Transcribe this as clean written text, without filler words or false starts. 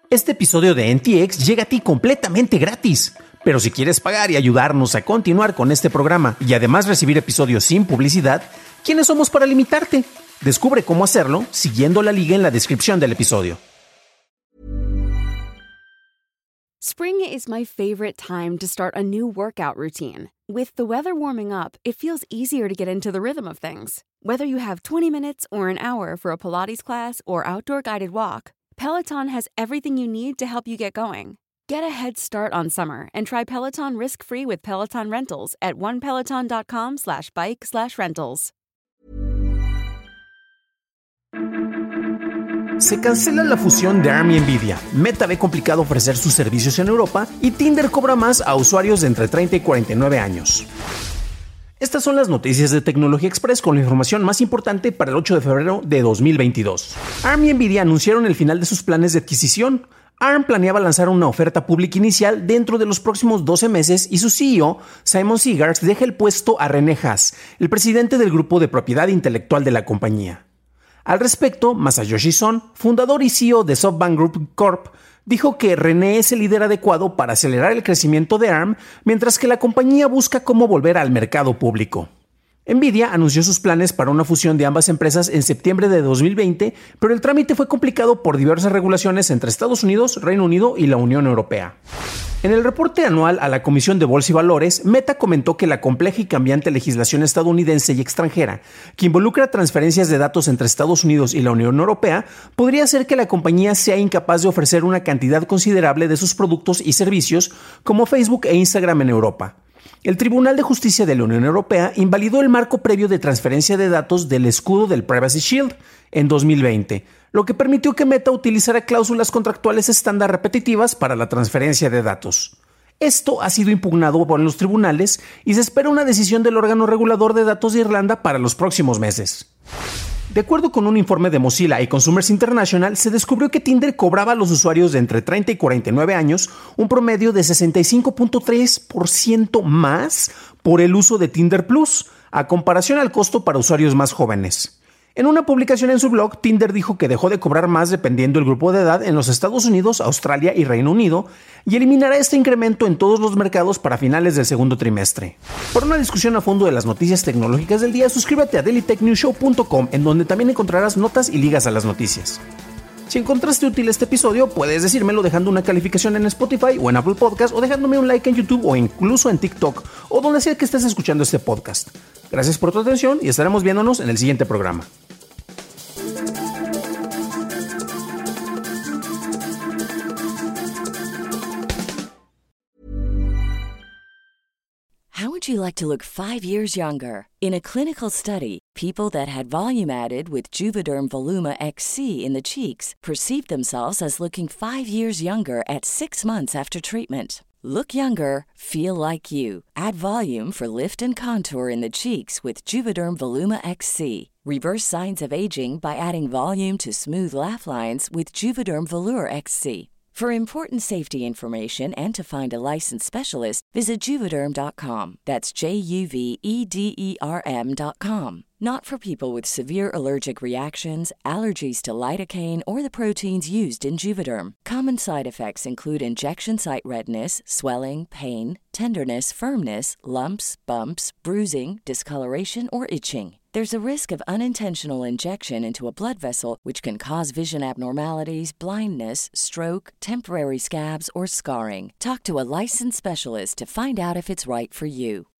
Este episodio de NTX llega a ti completamente gratis. Pero si quieres pagar y ayudarnos a continuar con este programa y además recibir episodios sin publicidad, ¿quiénes somos para limitarte? Descubre cómo hacerlo siguiendo la liga en la descripción del episodio. Spring is my favorite time to start a new workout routine. With the weather warming up, it feels easier to get into the rhythm of things. Whether you have 20 minutes or an hour for a Pilates class or outdoor guided walk, Peloton has everything you need to help you get going. Get a head start on summer and try Peloton risk-free with Peloton Rentals at onepeloton.com/bike/rentals. Se cancela la fusión de ARM y Nvidia, Meta ve complicado ofrecer sus servicios en Europa y Tinder cobra más a usuarios de entre 30 y 49 años. Estas son las noticias de Tecnología Express con la información más importante para el 8 de febrero de 2022. ARM y Nvidia anunciaron el final de sus planes de adquisición. ARM planeaba lanzar una oferta pública inicial dentro de los próximos 12 meses y su CEO, Simon Segars, deja el puesto a René Haas, el presidente del grupo de propiedad intelectual de la compañía. Al respecto, Masayoshi Son, fundador y CEO de SoftBank Group Corp., dijo que René es el líder adecuado para acelerar el crecimiento de ARM, mientras que la compañía busca cómo volver al mercado público. Nvidia anunció sus planes para una fusión de ambas empresas en septiembre de 2020, pero el trámite fue complicado por diversas regulaciones entre Estados Unidos, Reino Unido y la Unión Europea. En el reporte anual a la Comisión de Bolsa y Valores, Meta comentó que la compleja y cambiante legislación estadounidense y extranjera, que involucra transferencias de datos entre Estados Unidos y la Unión Europea, podría hacer que la compañía sea incapaz de ofrecer una cantidad considerable de sus productos y servicios como Facebook e Instagram en Europa. El Tribunal de Justicia de la Unión Europea invalidó el marco previo de transferencia de datos del escudo del Privacy Shield en 2020, lo que permitió que Meta utilizara cláusulas contractuales estándar repetitivas para la transferencia de datos. Esto ha sido impugnado por los tribunales y se espera una decisión del órgano regulador de datos de Irlanda para los próximos meses. De acuerdo con un informe de Mozilla y Consumers International, se descubrió que Tinder cobraba a los usuarios de entre 30 y 49 años un promedio de 65.3% más por el uso de Tinder Plus, a comparación al costo para usuarios más jóvenes. En una publicación en su blog, Tinder dijo que dejó de cobrar más dependiendo del grupo de edad en los Estados Unidos, Australia y Reino Unido y eliminará este incremento en todos los mercados para finales del segundo trimestre. Para una discusión a fondo de las noticias tecnológicas del día, suscríbete a dailytechnewsshow.com, en donde también encontrarás notas y ligas a las noticias. Si encontraste útil este episodio, puedes decírmelo dejando una calificación en Spotify o en Apple Podcast o dejándome un like en YouTube o incluso en TikTok o donde sea que estés escuchando este podcast. Gracias por tu atención y estaremos viéndonos en el siguiente programa. How would you like to look 5 years younger? In a clinical study, people that had volume added with Juvederm Voluma XC in the cheeks perceived themselves as looking 5 years younger at 6 months after treatment. Look younger, feel like you. Add volume for lift and contour in the cheeks with Juvederm Voluma XC. Reverse signs of aging by adding volume to smooth laugh lines with Juvederm Volure XC. For important safety information and to find a licensed specialist, visit Juvederm.com. That's JUVEDERM.com. Not for people with severe allergic reactions, allergies to lidocaine, or the proteins used in Juvederm. Common side effects include injection site redness, swelling, pain, tenderness, firmness, lumps, bumps, bruising, discoloration, or itching. There's a risk of unintentional injection into a blood vessel, which can cause vision abnormalities, blindness, stroke, temporary scabs, or scarring. Talk to a licensed specialist to find out if it's right for you.